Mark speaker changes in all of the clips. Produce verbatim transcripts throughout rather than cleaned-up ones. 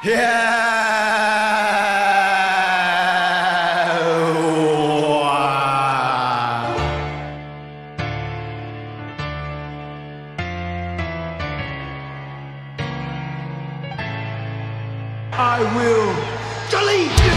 Speaker 1: I will delete you!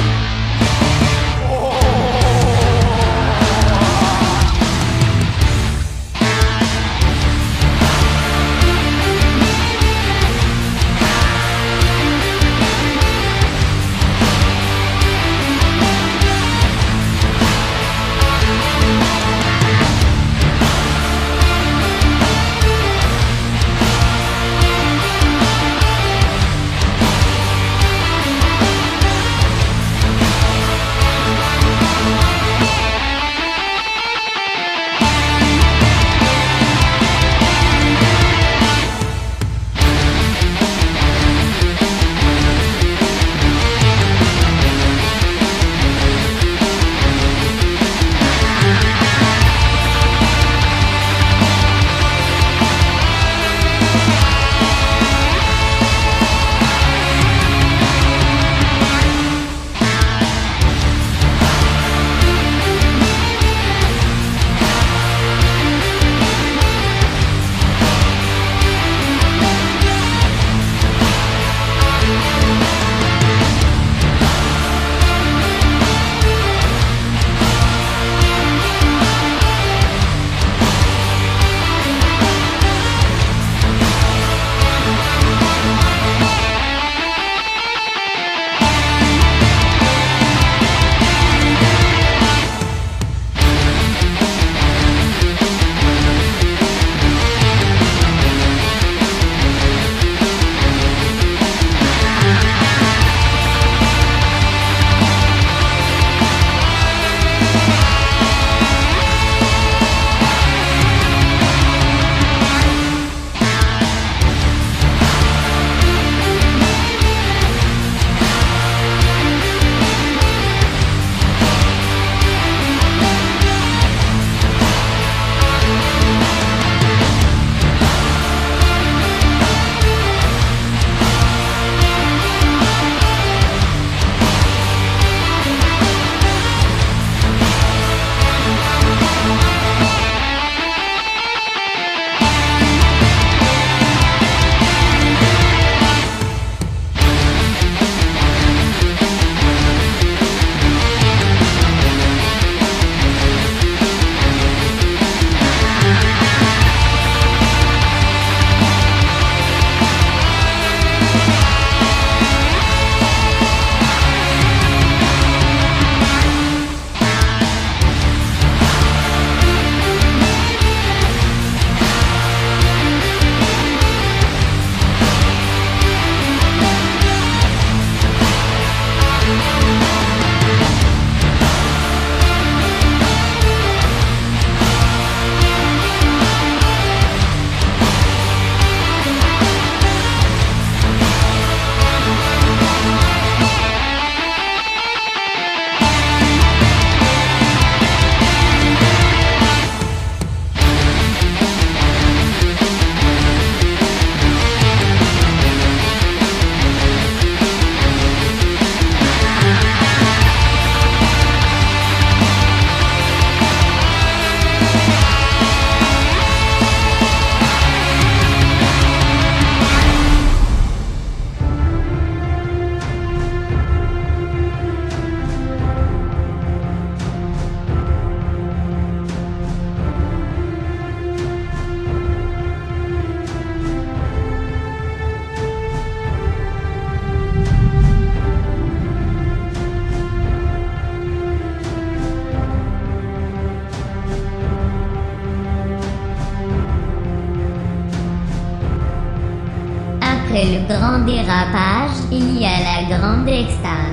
Speaker 2: Après le grand dérapage, il y a la grande extase.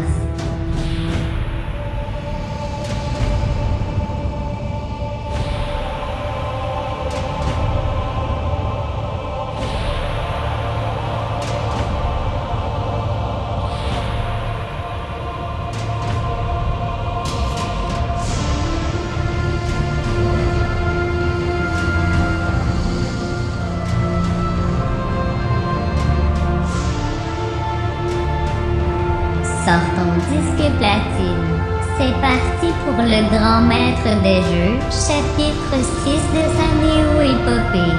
Speaker 2: sort ton disque platine. C'est parti pour le grand maître des jeux, chapitre six de sa néo-épopée.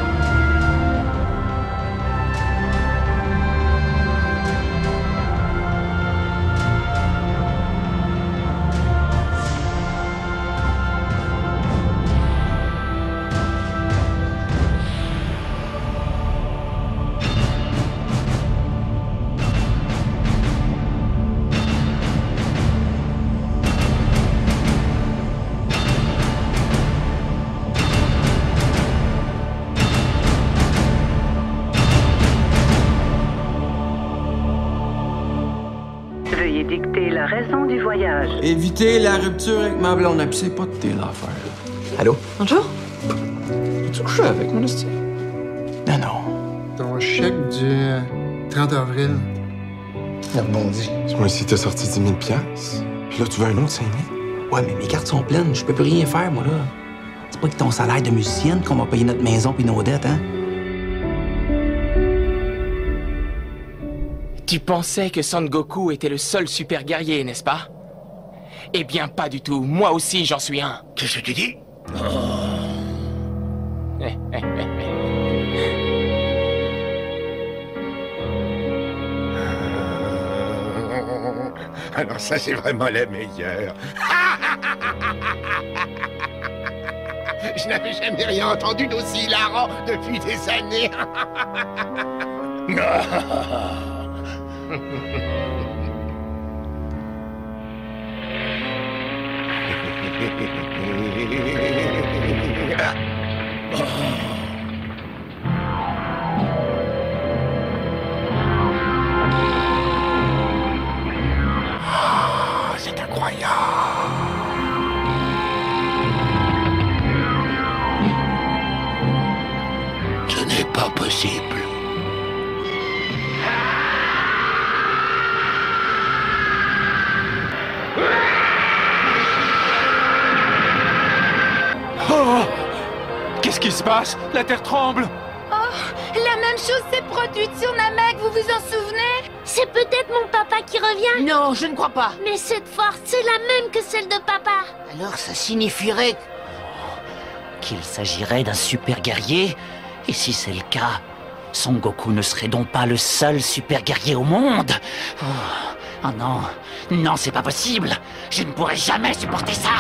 Speaker 3: Veuillez dicter la raison du voyage.
Speaker 1: Éviter la rupture avec ma blonde, puis c'est pas de tes affaires.
Speaker 4: Allô?
Speaker 5: Bonjour.
Speaker 1: Tu couches avec mon esti?
Speaker 4: Non, non.
Speaker 6: Ton chèque du euh, trente avril.
Speaker 4: Il rebondit.
Speaker 7: Moi, ici, t'as sorti dix mille piastres. Puis là, tu veux un autre cinq mille?
Speaker 4: Ouais, mais mes cartes sont pleines. Je peux plus rien faire, moi, là. C'est pas que ton salaire de musicienne qu'on va payer notre maison puis nos dettes, hein?
Speaker 8: Tu pensais que Son Goku était le seul super guerrier, n'est-ce pas? Eh bien, pas du tout. Moi aussi, j'en suis un.
Speaker 9: Qu'est-ce que tu dis? Alors ça, c'est vraiment la meilleure. Je n'avais jamais rien entendu d'aussi hilarant depuis des années. C'est incroyable. Ce n'est pas possible.
Speaker 8: Oh! Qu'est-ce qui se passe? La Terre tremble!
Speaker 10: Oh, la même chose s'est produite sur Namek, vous vous en souvenez?
Speaker 11: C'est peut-être mon papa qui revient.
Speaker 10: Non, je ne crois pas.
Speaker 11: Mais cette force, c'est la même que celle de papa.
Speaker 9: Alors ça signifierait
Speaker 12: qu'il s'agirait d'un super guerrier? Et si c'est le cas, Son Goku ne serait donc pas le seul super guerrier au monde? Oh, oh non, non, c'est pas possible. Je ne pourrai jamais supporter ça.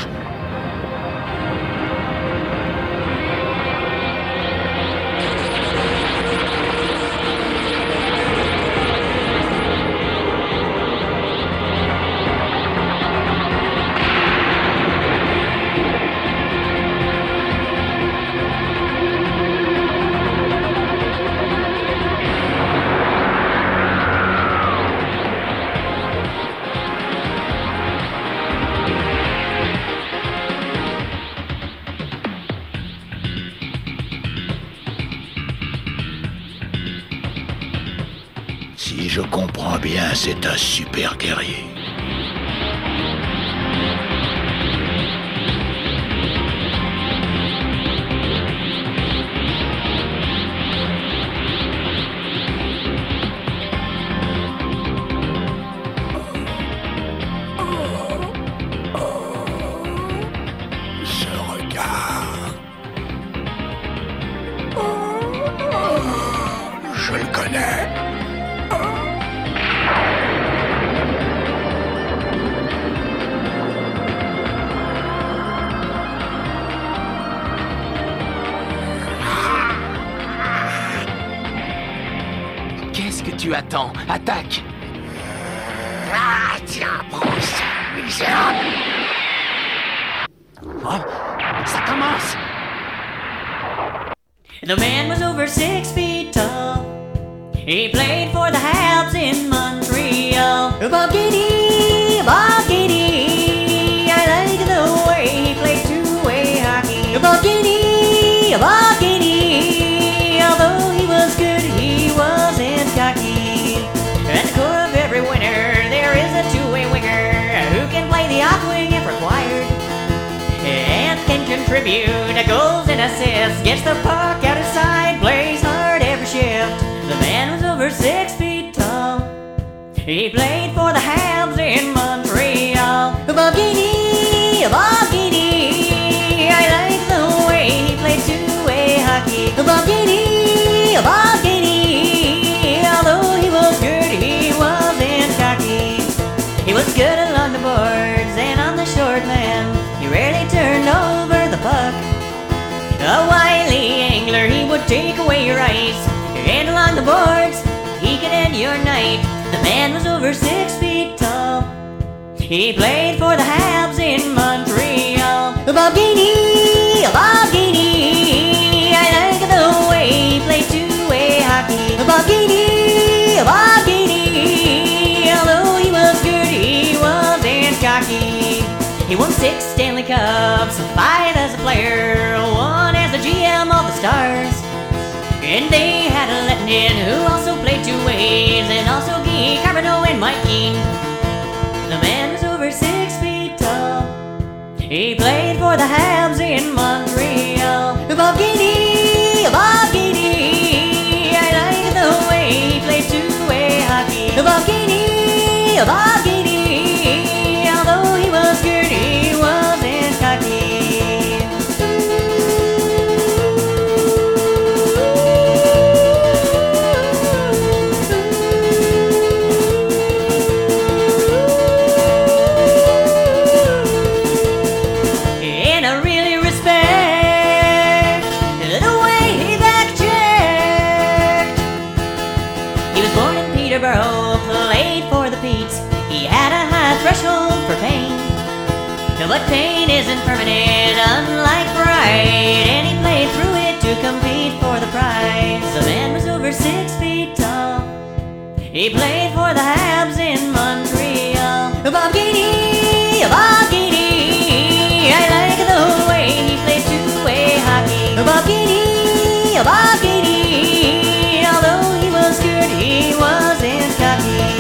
Speaker 9: Si je comprends bien, c'est un super guerrier. Ce regard... Je le connais.
Speaker 8: Qu'est-ce que tu attends? Attaque!
Speaker 9: Ah, tiens, prends ça, misérable!
Speaker 12: Oh, ça commence!
Speaker 13: The man was over six feet tall. He played for the Habs in Montreal. Bogini, Bogini, I like the way he played two-way hockey. Bogini, Bogini, although he was good, he wasn't cocky. At the core of every winner, there is a two-way winger who can play the off wing if required, and can contribute goals and assists, gets the puck out of sight, plays hard every shift. The man was over six feet tall. He played for the Habs your ice. And along the boards, he could end your night. The man was over six feet tall. He played for the Habs in Montreal. Bob Gainey, Bob Gainey, I like the way he played two-way hockey. Bob Gainey, Bob Gainey, although he was good, he wasn't cocky. He won six Stanley Cups, five as a player, one as the G M of the Stars. And they had a Letnin who also played two ways, and also Guy Carbonneau and Mike Keane. The man was over six feet tall. He played for the Habs in Montreal. Bob Gainey, Bob Gainey, I like the way he played two-way hockey. Bob Gainey, Bob Gainey, although he was good, he wasn't cocky. Played for the Petes. He had a high threshold for pain, but pain isn't permanent, unlike pride, and he played through it to compete for the prize. The man was over six feet tall. He played for the Habs in Montreal. Bob Gainey, Bob Gainey, I like the way he played two-way hockey. Bob Gainey, Bob Gainey, although he was good, he wasn't cocky.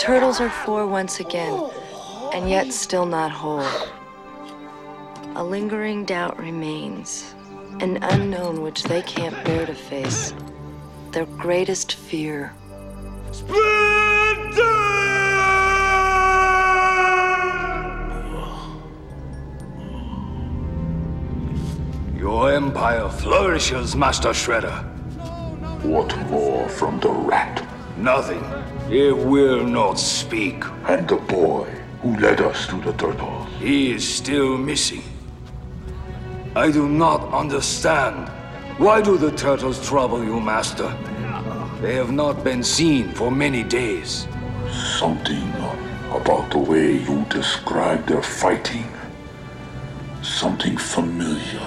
Speaker 5: turtles are four once again, and yet still not whole. A lingering doubt remains, an unknown which they can't bear to face. Their greatest fear.
Speaker 14: Your empire flourishes, Master Shredder.
Speaker 15: What more from the rat?
Speaker 14: Nothing. It will not speak.
Speaker 15: And the boy who led us to the turtles?
Speaker 14: He is still missing. I do not understand. Why do the turtles trouble you, Master? They have not been seen for many days.
Speaker 15: Something about the way you describe their fighting. Something familiar.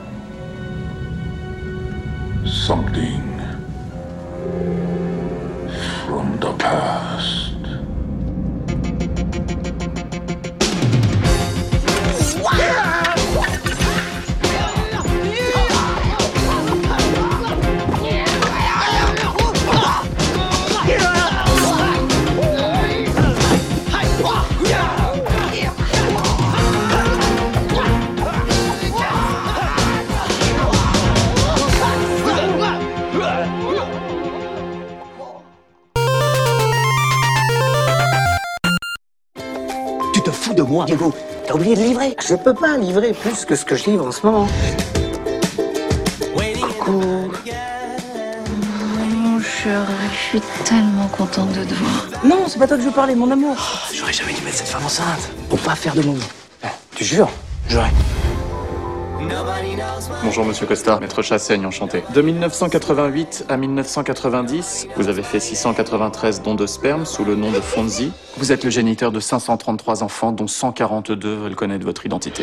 Speaker 15: Something from the past.
Speaker 16: Tu te fous de moi, Diego. T'as oublié de livrer. Je peux pas livrer plus que ce que je livre en ce moment. Coucou.
Speaker 17: Mon chéri, je suis tellement contente de te voir.
Speaker 16: Non, c'est pas toi que je veux parler, mon amour. Oh, j'aurais jamais dû mettre cette femme enceinte. Pour pas faire de momies. Tu jures? J'aurais.
Speaker 18: Bonjour Monsieur Costa, Maître Chassaigne, enchanté. De mille neuf cent quatre-vingt-huit à mille neuf cent quatre-vingt-dix, vous avez fait six cent quatre-vingt-treize dons de sperme sous le nom de Fonzie. Vous êtes le géniteur de cinq cent trente-trois enfants, dont cent quarante-deux veulent connaître votre identité.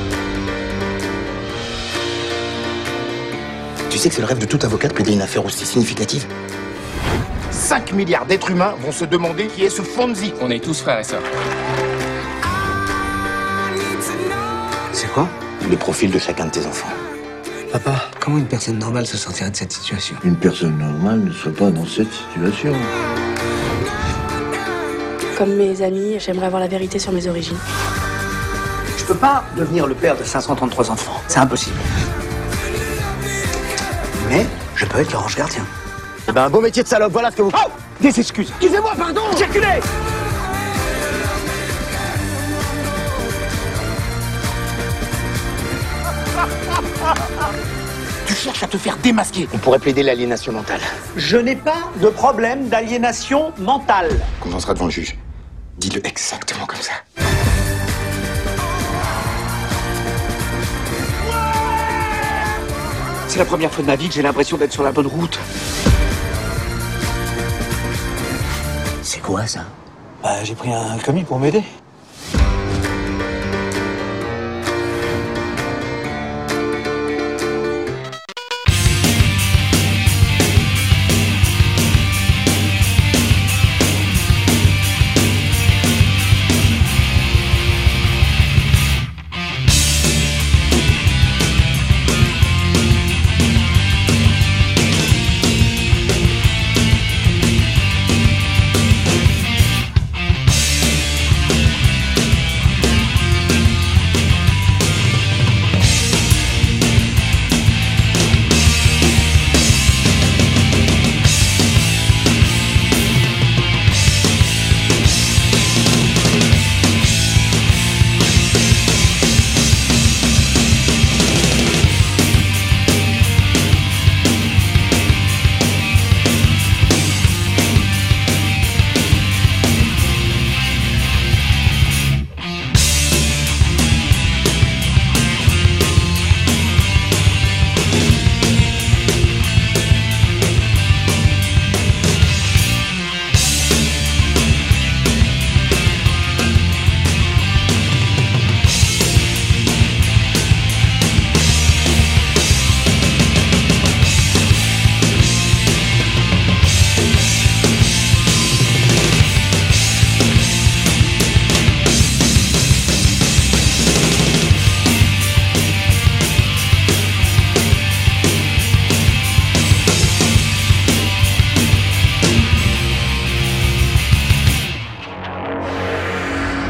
Speaker 16: Tu sais que c'est le rêve de tout avocat de plaider une affaire aussi significative?
Speaker 9: cinq milliards d'êtres humains vont se demander qui est ce Fonzie.
Speaker 8: On est tous frères et sœurs.
Speaker 16: C'est quoi? Le profil de chacun de tes enfants. Papa, comment une personne normale se sortirait de cette situation?
Speaker 15: Une personne normale ne serait pas dans cette situation.
Speaker 19: Comme mes amis, j'aimerais avoir la vérité sur mes origines.
Speaker 16: Je peux pas devenir le père de cinq cent trente-trois enfants. C'est impossible. Mais je peux être leur ange gardien.
Speaker 9: Eh ben, un beau métier de salope, voilà ce que vous... Oh! Des excuses. Excusez-moi, pardon! Circulez!
Speaker 16: Tu cherches à te faire démasquer.
Speaker 9: On pourrait plaider l'aliénation mentale.
Speaker 16: Je n'ai pas de problème d'aliénation mentale.
Speaker 7: Quand on sera devant le juge, dis-le exactement comme ça.
Speaker 16: C'est la première fois de ma vie que j'ai l'impression d'être sur la bonne route. C'est quoi ça? Bah, j'ai pris un commis pour m'aider.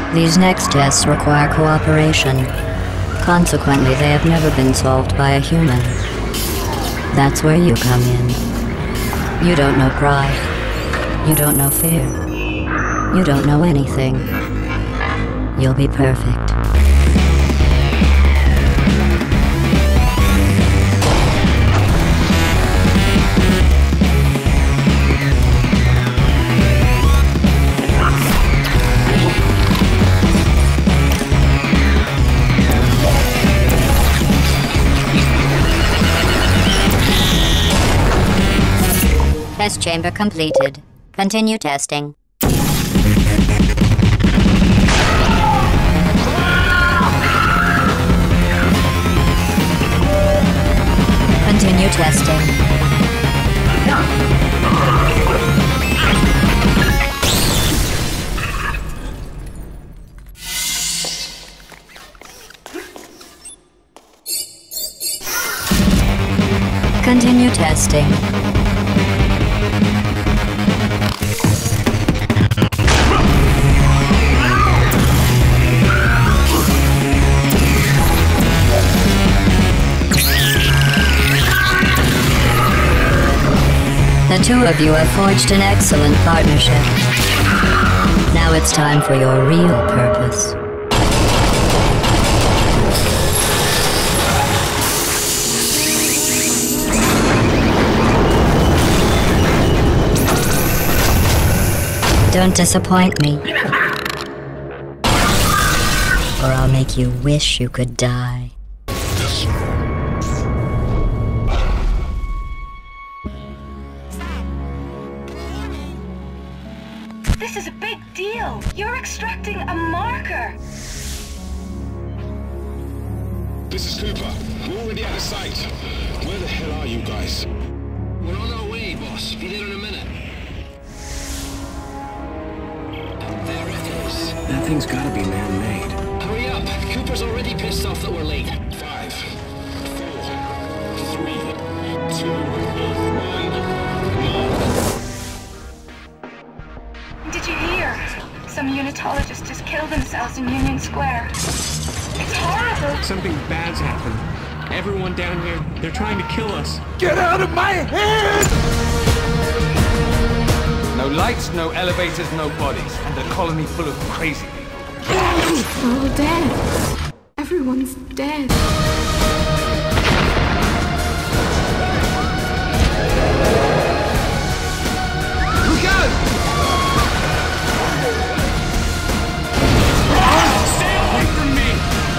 Speaker 20: These next tests require cooperation. Consequently, they have never been solved by a human. That's where you come in. You don't know pride. You don't know fear. You don't know anything. You'll be perfect. Test chamber completed. Continue testing. Continue testing. Continue testing. The two of you have forged an excellent partnership. Now it's time for your real purpose. Don't disappoint me, or I'll make you wish you could die.
Speaker 10: This is a big deal. You're extracting a marker.
Speaker 21: This is Cooper. We're already out of sight. Where the hell are you guys?
Speaker 22: We're on our way, boss. Be there in a minute. And there it is.
Speaker 16: That thing's gotta be man-made.
Speaker 22: Hurry up. Cooper's already pissed off that we're late.
Speaker 21: Five, four, three, two, one, go.
Speaker 10: Did you hear? Some unitologists just killed themselves in Union Square. It's horrible.
Speaker 23: Something bad's happened. Everyone down here, they're trying to kill us.
Speaker 1: Get out of my head! No lights, no elevators, no bodies, and a colony full of crazy people.
Speaker 17: We're all dead. Everyone's dead.
Speaker 1: Look out!
Speaker 23: Stay away from me!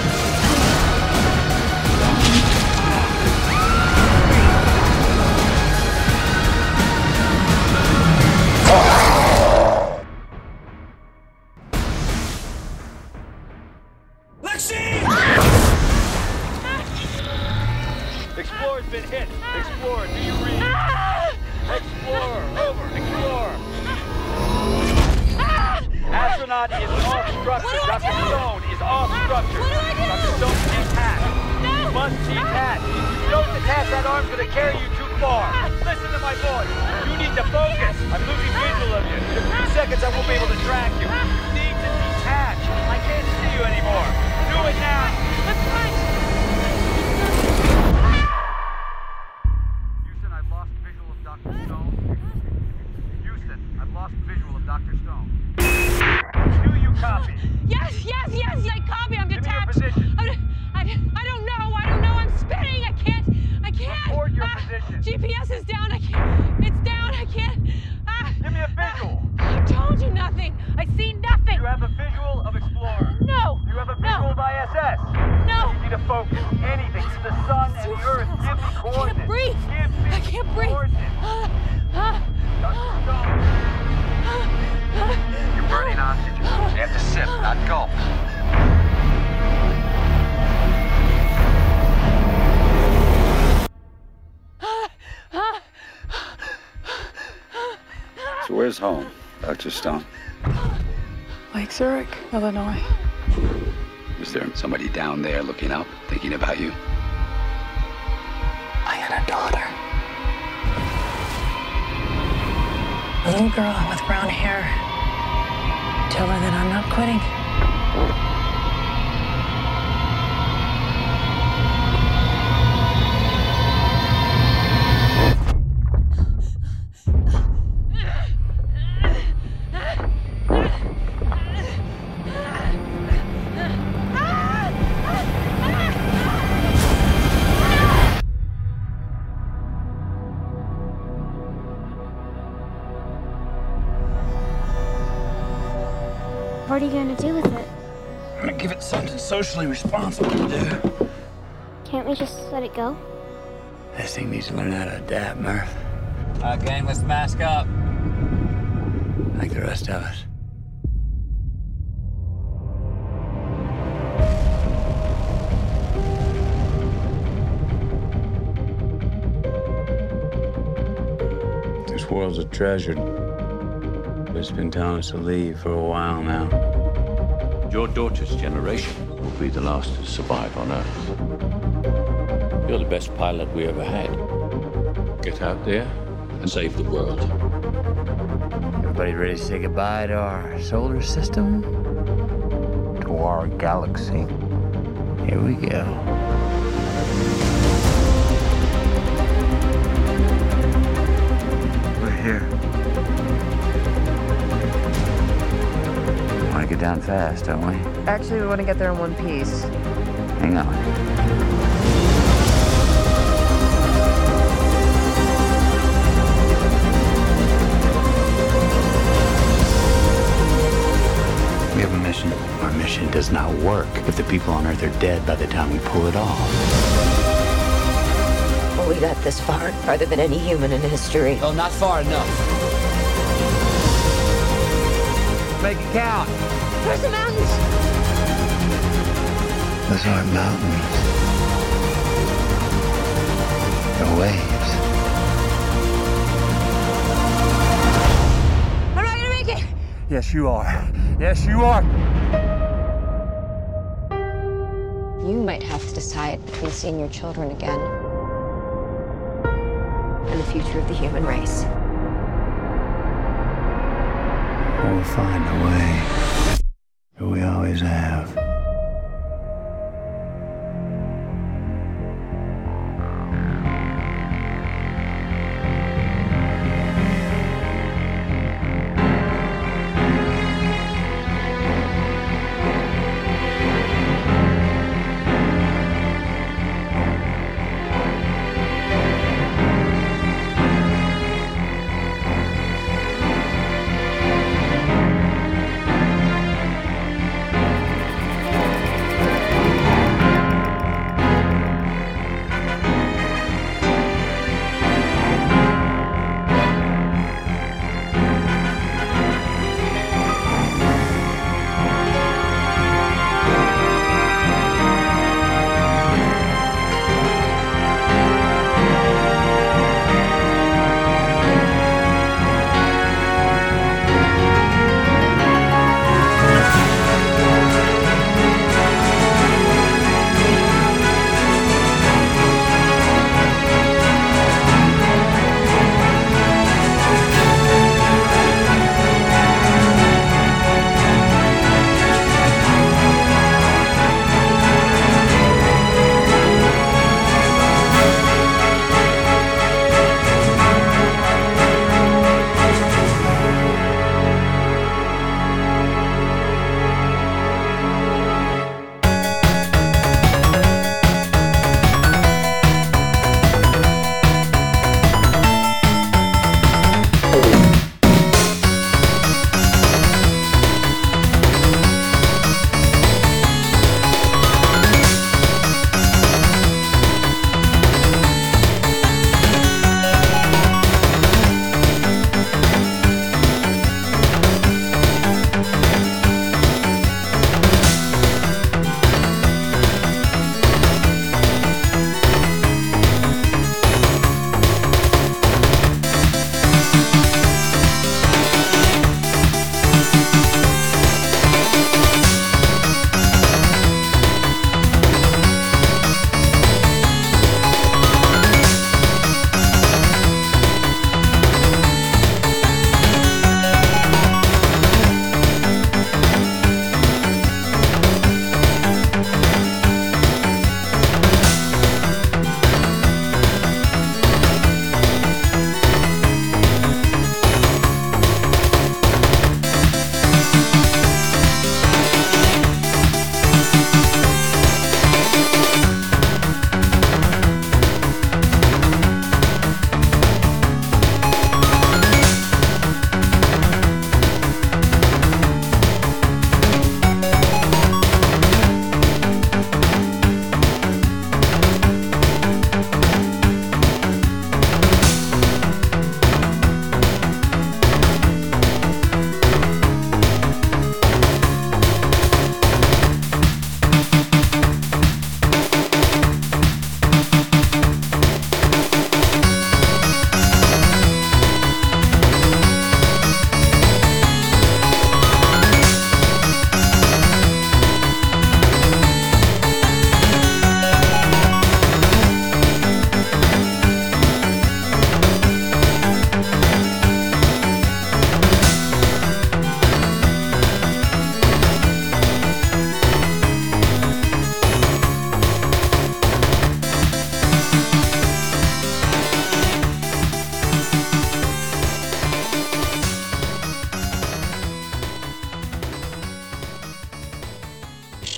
Speaker 24: Explorer's been hit. Explorer, do you read? Explorer, over. Explorer. Astronaut is off structure. Doctor Stone is off structure. Doctor Stone is intact. You must detach. If you don't detach, that arm's going to carry you too far. Listen to my voice. You need to focus. I'm losing visual of you. In a few seconds, I won't be able to track you. You need to detach. I can't see you anymore. Do it now. Let's fight. Houston, I've lost visual of Doctor Stone. Houston, I've lost visual of Doctor Stone. Do you copy?
Speaker 10: Yes, yes, yes, I copy. I'm
Speaker 24: Give
Speaker 10: detached.
Speaker 24: me your position.
Speaker 10: I, I, I don't know. I don't know. I'm spinning. I can't. I can't.
Speaker 24: Report your
Speaker 10: Ah,
Speaker 24: position.
Speaker 10: G P S is down. I can't. It's down. I can't. Ah,
Speaker 24: Give me a visual.
Speaker 10: ah, I told you nothing. I see nothing.
Speaker 24: You have a visual of Explorer.
Speaker 10: No.
Speaker 24: You have a visual
Speaker 10: No.
Speaker 24: of I S S.
Speaker 10: No.
Speaker 24: You need to focus. Anything. The sun and the earth. Give me
Speaker 10: I
Speaker 24: coordinates.
Speaker 10: can't breathe.
Speaker 24: Give me
Speaker 10: I can't breathe.
Speaker 24: coordinates.
Speaker 10: Ah, ah,
Speaker 24: Doctor Stone. You're burning oxygen. You have to sip, not gulp.
Speaker 15: So where's home, Doctor Stone?
Speaker 17: Lake Zurich, Illinois.
Speaker 15: Is there somebody down there looking up, thinking about you?
Speaker 17: I had a daughter. A little girl with brown hair. Tell her that I'm not quitting.
Speaker 11: What are you gonna do with it?
Speaker 2: I'm gonna give it something socially responsible to do.
Speaker 11: Can't we just let it go?
Speaker 2: This thing needs to learn how to adapt, Murph.
Speaker 3: Uh, gang, let's mask up.
Speaker 2: Like the rest of us. This world's a treasure. But it's been telling us to leave for a while now.
Speaker 4: Your daughter's generation will be the last to survive on Earth. You're the best pilot we ever had. Get out there and save the world.
Speaker 2: Everybody ready to say goodbye to our solar system? To our galaxy. Here we go. We're here. Want to get down fast, don't we?
Speaker 6: Actually, we want to get there in one piece.
Speaker 2: Hang on. We have a mission. Our mission does not work if the people on Earth are dead by the time we pull it off.
Speaker 5: Well, we got this far, farther than any human in history.
Speaker 3: Oh, not far enough.
Speaker 2: Make it count.
Speaker 11: Where's the mountains?
Speaker 2: Those aren't mountains. They're waves.
Speaker 11: I'm not gonna make it!
Speaker 2: Yes, you are. Yes, you are.
Speaker 25: You might have to decide between seeing your children again and the future of the human race.
Speaker 2: We'll find a way. We always have.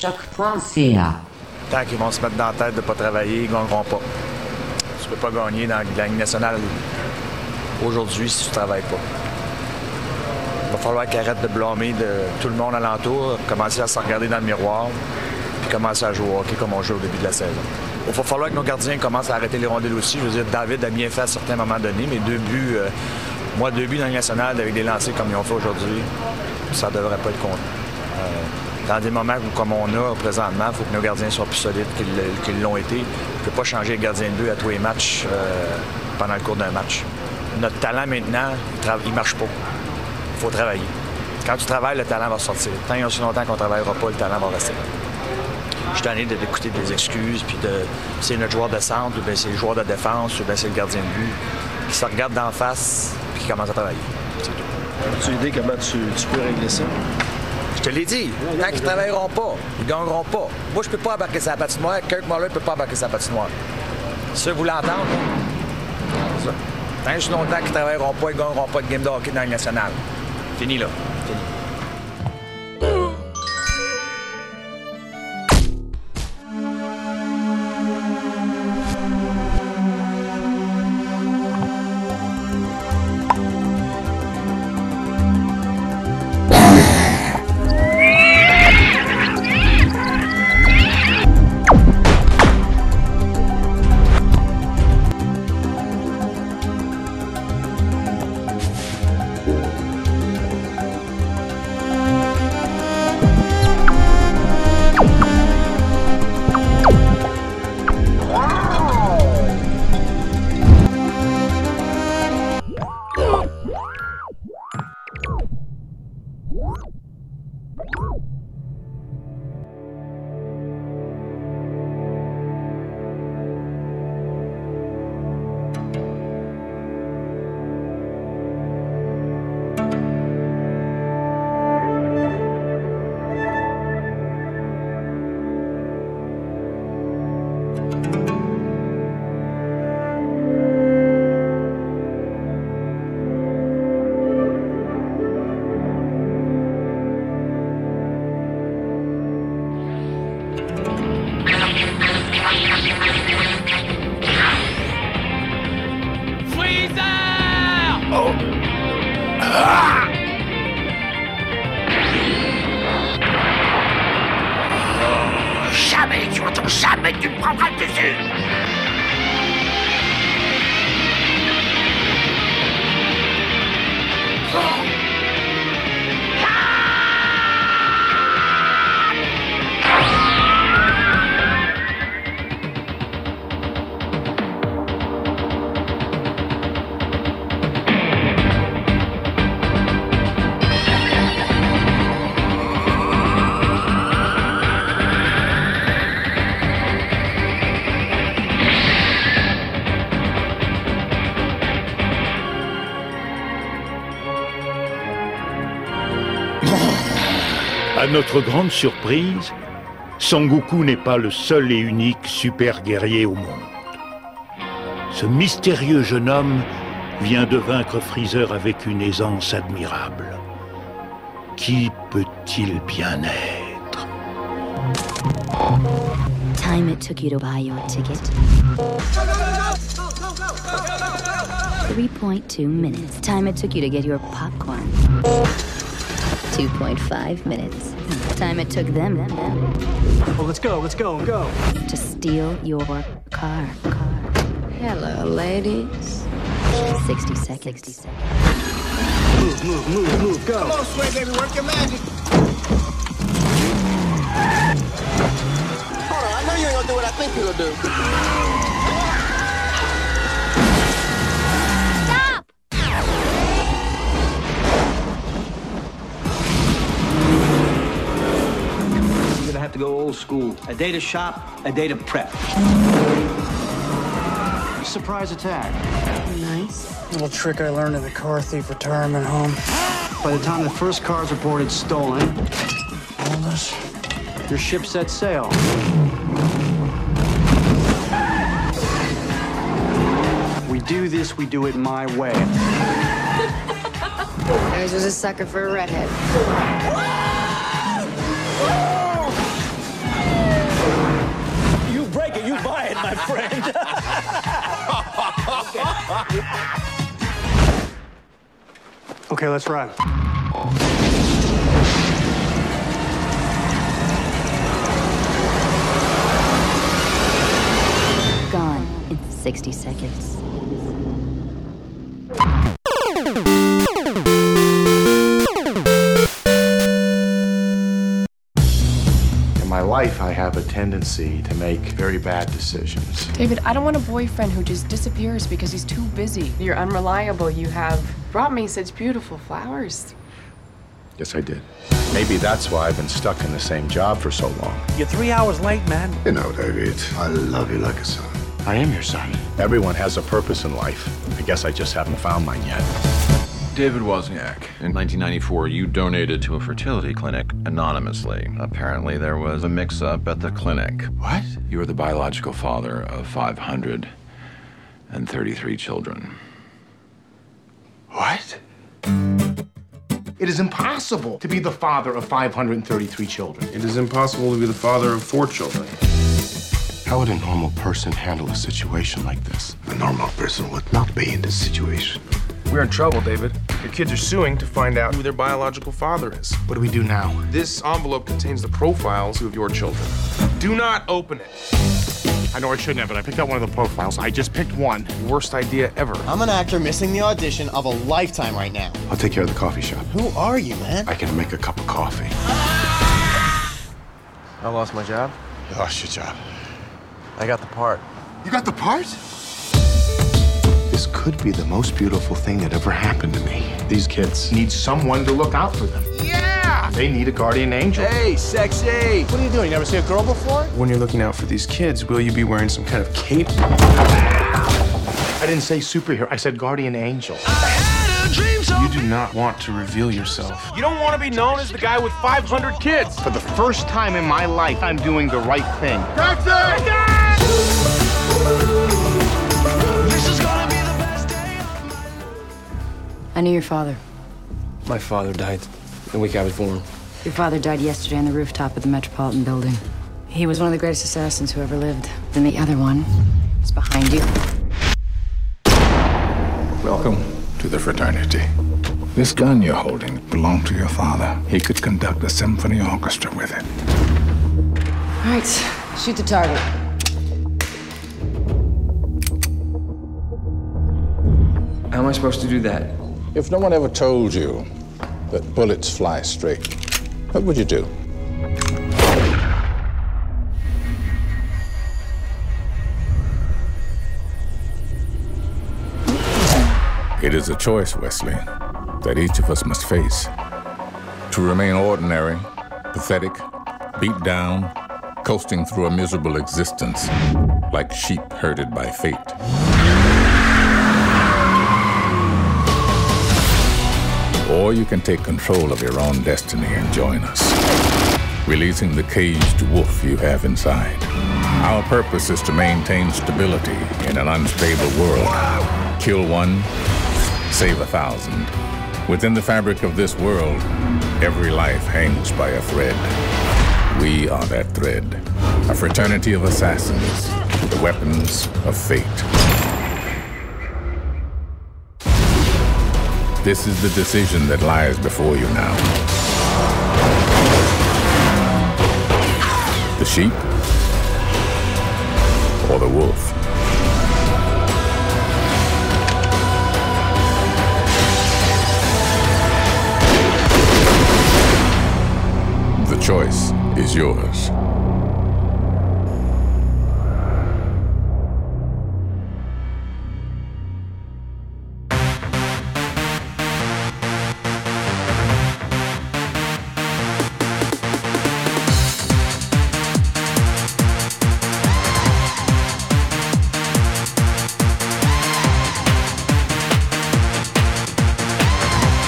Speaker 8: choc point c a.
Speaker 2: Tant qu'ils vont se mettre dans la tête de ne pas travailler, ils ne gagneront pas. Tu ne peux pas gagner dans la Ligue nationale aujourd'hui si tu ne travailles pas. Il va falloir qu'ils arrêtent de blâmer de tout le monde alentour, commencer à se regarder dans le miroir, puis commencer à jouer au hockey comme on joue au début de la saison. Il va falloir que nos gardiens commencent à arrêter les rondelles aussi. Je veux dire, David a bien fait à certains moments donnés, mais deux buts, euh, moi, deux buts dans la Ligue nationale avec des lancers comme ils ont fait aujourd'hui, ça ne devrait pas être compté. Euh, dans des moments où, comme on a présentement, il faut que nos gardiens soient plus solides qu'ils, qu'ils l'ont été. On ne peut pas changer le gardien de but à tous les matchs euh, pendant le cours d'un match. Notre talent maintenant, il ne marche pas. Il faut travailler. Quand tu travailles, le talent va sortir. Tant et aussi longtemps qu'on ne travaillera pas, le talent va rester. Je suis tanné d'écouter des excuses, puis de c'est notre joueur de centre, ou bien c'est le joueur de défense, ou bien c'est le gardien de but, qui se regarde d'en face, puis qui commence à travailler. C'est tout.
Speaker 12: As-tu idée comment tu, tu peux régler ça?
Speaker 2: Je te l'ai dit. Tant qu'ils ne travailleront pas, ils ne gagneront pas. Moi, je peux pas embarquer sa patinoire. Kirk Muller ne peut pas embarquer sa patinoire. Si vous l'entendez, c'est ça. Tant et aussi longtemps qu'ils ne travailleront pas, ils ne gagneront pas de game de hockey dans la Ligue nationale. Fini, là. Fini.
Speaker 13: À notre grande surprise, Sangoku n'est pas le seul et unique super guerrier au monde. Ce mystérieux jeune homme vient de vaincre Freezer avec une aisance admirable. Qui peut-il bien être?
Speaker 20: Time it took you to buy your ticket. three point two minutes. Time it took you to get your popcorn. two point five minutes. Time it took them, them, them.
Speaker 14: Well, let's go, let's go, go.
Speaker 20: To steal your car, car. Hello, ladies. sixty seconds. sixty seconds.
Speaker 14: Move, move, move, move, go.
Speaker 9: Come on, Sway, baby, work your magic. Hold on, I know you ain't gonna do what I think you're gonna do.
Speaker 14: Have to go old school. A day to shop, a day to prep. Surprise attack.
Speaker 20: Nice.
Speaker 18: Little trick I learned in the car thief retirement home.
Speaker 14: By the time the first car's reported stolen,
Speaker 18: Hold us.
Speaker 14: your ship set sail. We do this, we do it my way.
Speaker 6: Yours was a sucker for a redhead.
Speaker 7: my friend.
Speaker 18: Okay, let's ride.
Speaker 20: Gone in sixty seconds.
Speaker 8: In my life, I have a tendency to make very bad decisions.
Speaker 6: David, I don't want a boyfriend who just disappears because he's too busy. You're unreliable. You have brought me such beautiful flowers.
Speaker 8: Yes, I did. Maybe that's why I've been stuck in the same job for so long.
Speaker 7: You're three hours late, man.
Speaker 9: You know, David, I love you like a son.
Speaker 8: I am your son. Everyone has a purpose in life. I guess I just haven't found mine yet.
Speaker 16: David Wozniak, in nineteen ninety-four, you donated to a fertility clinic anonymously. Apparently, there was a mix-up at the clinic.
Speaker 8: What?
Speaker 16: You were the biological father of five hundred thirty-three children.
Speaker 8: What? It is impossible to be the father of five hundred thirty-three children.
Speaker 9: It is impossible to be the father of four children.
Speaker 8: How would a normal person handle a situation like this?
Speaker 9: A normal person would not be in this situation.
Speaker 19: We're in trouble, David. Your kids are suing to find out who their biological father is.
Speaker 8: What do we do now?
Speaker 19: This envelope contains the profiles of your children. Do not open it.
Speaker 8: I know I shouldn't have, but I picked out one of the profiles. I just picked one.
Speaker 19: Worst idea ever.
Speaker 22: I'm an actor missing the audition of a lifetime right now.
Speaker 8: I'll take care of the coffee shop.
Speaker 22: Who are you, man?
Speaker 8: I can make a cup of coffee.
Speaker 19: I lost my job.
Speaker 8: You lost your job.
Speaker 19: I got the part.
Speaker 8: You got the part? This could be the most beautiful thing that ever happened to me. These kids need someone to look out for them. Yeah! They need a guardian angel.
Speaker 19: Hey, sexy!
Speaker 22: What are you doing? You never seen a girl before?
Speaker 19: When you're looking out for these kids, will you be wearing some kind of cape?
Speaker 8: I didn't say superhero. I said guardian angel.
Speaker 19: You do not want to reveal yourself. You don't want to be known as the guy with five hundred kids.
Speaker 8: For the first time in my life, I'm doing the right thing.
Speaker 19: Taxi!
Speaker 6: I knew your father.
Speaker 19: My father died the week I was born.
Speaker 6: Your father died yesterday on the rooftop of the Metropolitan Building. He was one of the greatest assassins who ever lived. Then the other one is behind you.
Speaker 26: Welcome to the fraternity. This gun you're holding belonged to your father. He could conduct a symphony orchestra with it.
Speaker 6: All right, shoot the target.
Speaker 19: How am I supposed to do that?
Speaker 26: If no one ever told you that bullets fly straight, what would you do? It is a choice, Wesley, that each of us must face. To remain ordinary, pathetic, beat down, coasting through a miserable existence, like sheep herded by fate. Or you can take control of your own destiny and join us, releasing the caged wolf you have inside. Our purpose is to maintain stability in an unstable world. Kill one, save a thousand. Within the fabric of this world, every life hangs by a thread. We are that thread, a fraternity of assassins, the weapons of fate. This is the decision that lies before you now. The sheep or the wolf? The choice is yours.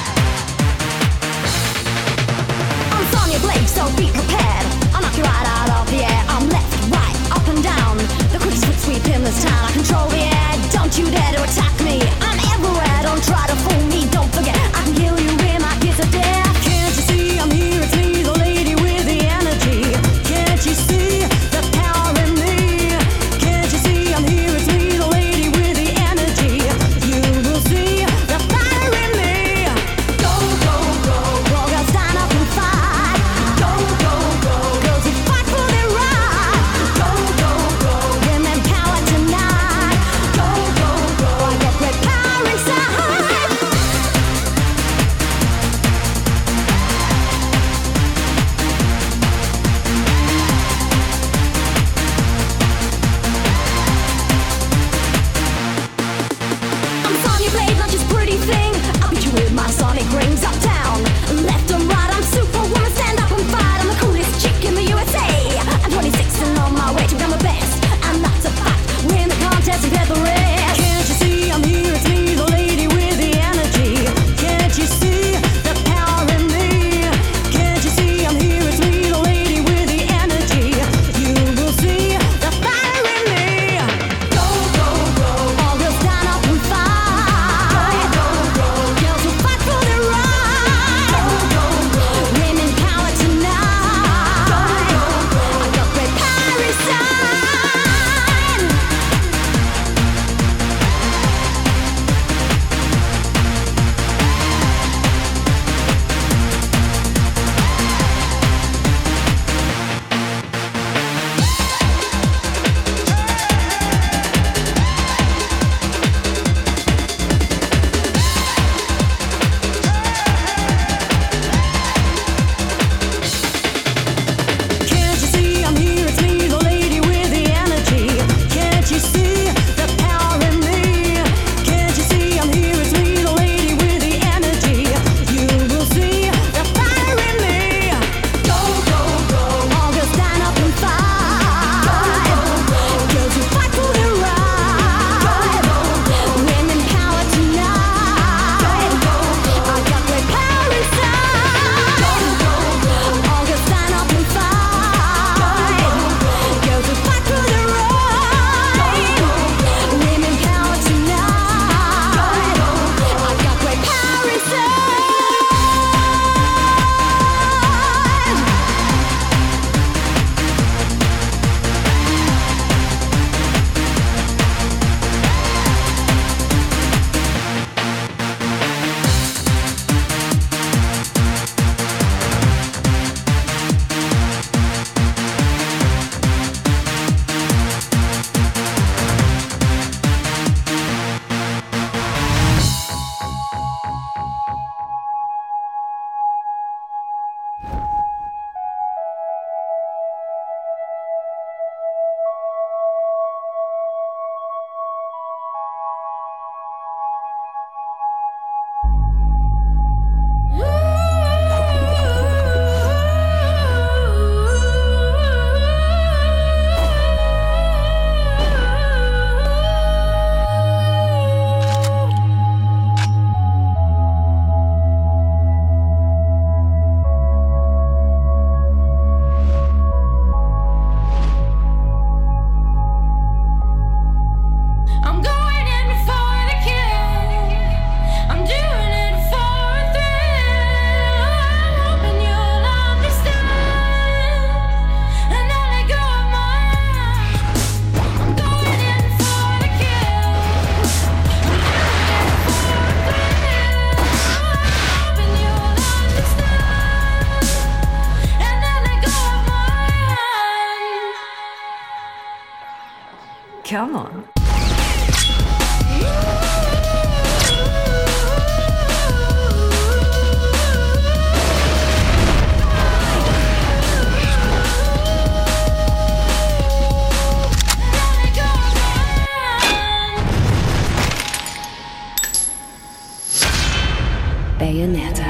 Speaker 27: So be prepared. I'll knock you right out
Speaker 1: Come on.
Speaker 20: Bayonetta.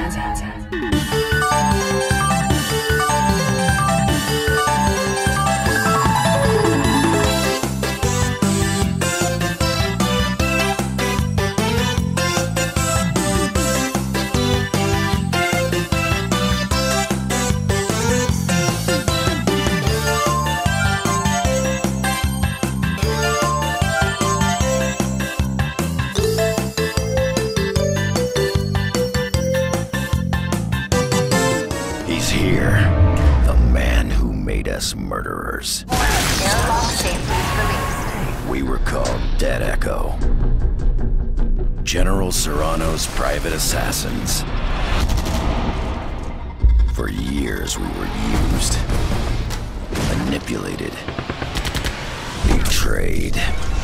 Speaker 7: Murderers. We were called Dead Echo. General Serrano's private assassins. For years we were used, manipulated, betrayed.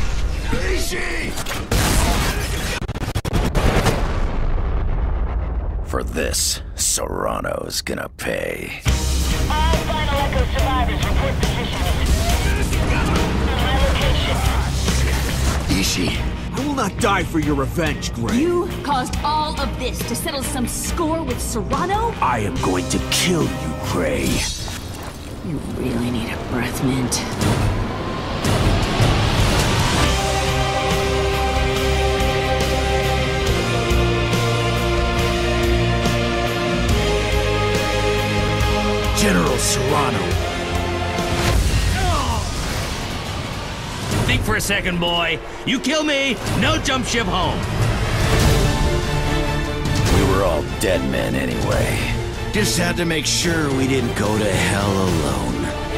Speaker 7: For this, Serrano's gonna pay.
Speaker 10: All Final Echo survivors report positions. My location.
Speaker 7: Ishii.
Speaker 21: I will not die for your revenge, Gray.
Speaker 23: You caused all of this to settle some score with Serrano?
Speaker 21: I am going to kill you, Gray.
Speaker 23: You really need a breath mint.
Speaker 21: General Serrano.
Speaker 24: Think for a second, boy. You kill me, no jump ship home.
Speaker 7: We were all dead men anyway. Just had to make sure we didn't go to hell alone.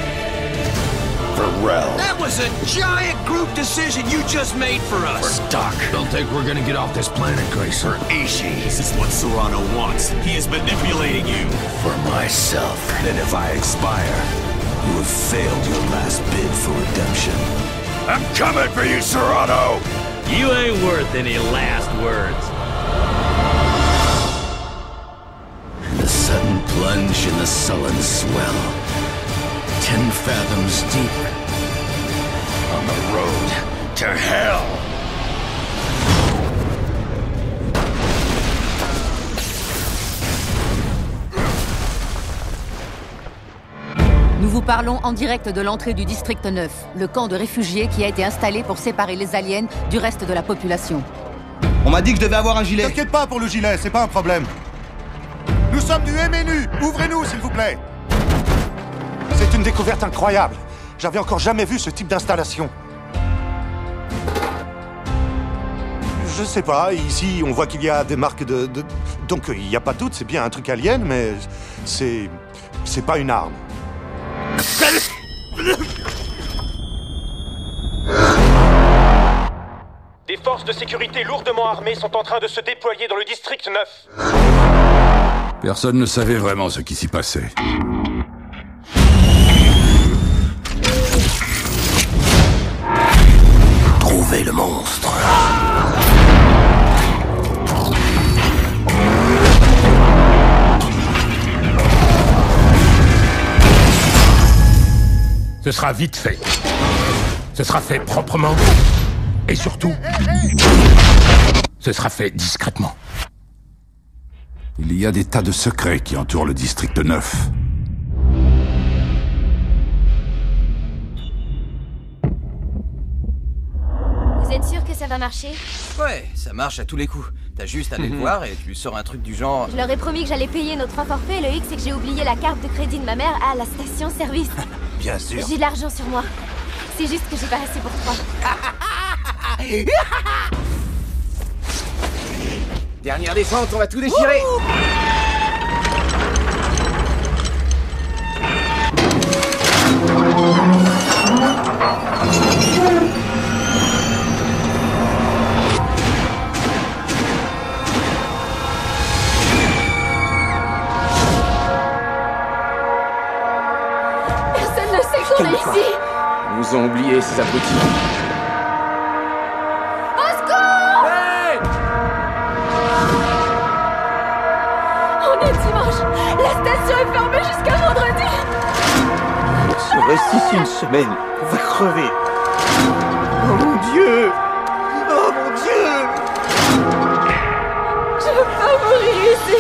Speaker 7: Varel.
Speaker 21: That was a giant group decision you just made for us.
Speaker 7: For Doc.
Speaker 21: Don't think we're gonna get off this planet, Gracer.
Speaker 7: For Ishii.
Speaker 21: This is what Serrano wants. He is manipulating you.
Speaker 7: For myself.
Speaker 21: Then if I expire, you have failed your last bid for redemption.
Speaker 7: I'm coming for you, Serrano!
Speaker 24: You ain't worth any last words.
Speaker 7: The sudden plunge in the sullen swell. Ten fathoms deep. On the road to hell.
Speaker 27: Nous vous parlons en direct de l'entrée du district neuf, le camp de réfugiés qui a été installé pour séparer les aliens du reste de la population.
Speaker 22: On m'a dit que je devais avoir un gilet.
Speaker 8: T'inquiète pas pour le gilet, c'est pas un problème. Nous sommes du M N U, ouvrez-nous s'il vous plaît. C'est une découverte incroyable. J'avais encore jamais vu ce type d'installation. Je sais pas, ici on voit qu'il y a des marques de... de... Donc il n'y a pas toutes, c'est bien un truc alien, mais c'est... c'est pas une arme.
Speaker 19: Des forces de sécurité lourdement armées sont en train de se déployer dans le district neuf.
Speaker 28: Personne ne savait vraiment ce qui s'y passait.
Speaker 7: Trouvez le monstre.
Speaker 28: Ce sera vite fait. Ce sera fait proprement. Et surtout, ce sera fait discrètement. Il y a des tas de secrets qui entourent le district neuf.
Speaker 11: Vous êtes sûr que ça va marcher?
Speaker 29: Ouais, ça marche à tous les coups. T'as juste à aller le voir et tu lui sors un truc du genre...
Speaker 11: Je leur ai promis que j'allais payer nos trois forfaits. Le hic, c'est que j'ai oublié la carte de crédit de ma mère à la station-service.
Speaker 29: Bien sûr.
Speaker 11: J'ai de l'argent sur moi. C'est juste que j'ai pas assez pour trois.
Speaker 22: Dernière descente, on va tout déchirer.
Speaker 11: Personne ne sait qu'on est ici.
Speaker 22: Ils nous ont oubliés, ces abrutis.
Speaker 11: Serge, la station est fermée jusqu'à vendredi.
Speaker 22: On reste ici une semaine. On va crever. Oh mon Dieu! Oh mon Dieu!
Speaker 11: Je veux pas mourir ici.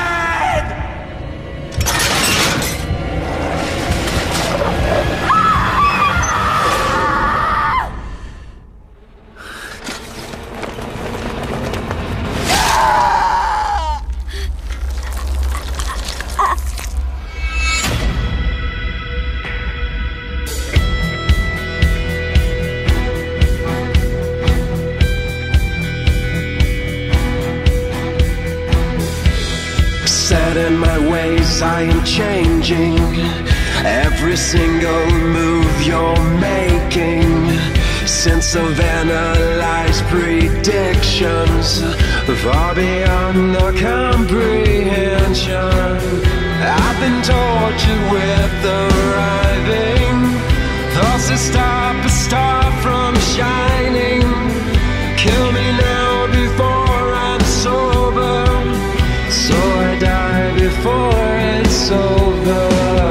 Speaker 1: Set in my ways, I am changing every single move you're making. Since I've analyzed predictions far beyond the comprehension, I've been tortured with arriving. Thoughts that stop a star from shining. Kill me now before I'm sober, so I die before it's over.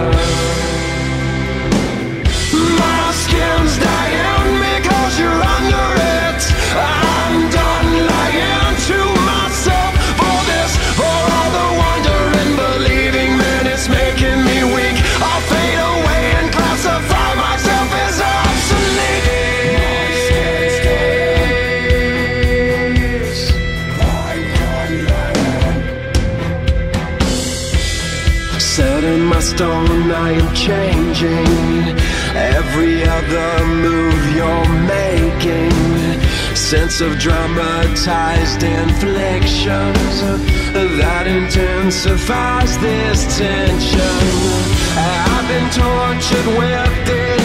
Speaker 1: My skin's dying because you're under it. I'm done lying to myself for this, for all the wonder in believing, man, it's making me weak. I'll fade away and classify myself as obsolete. Set in my stone, I am changing every other move you're making. Sense of dramatized inflictions that intensifies this tension. I've been tortured with this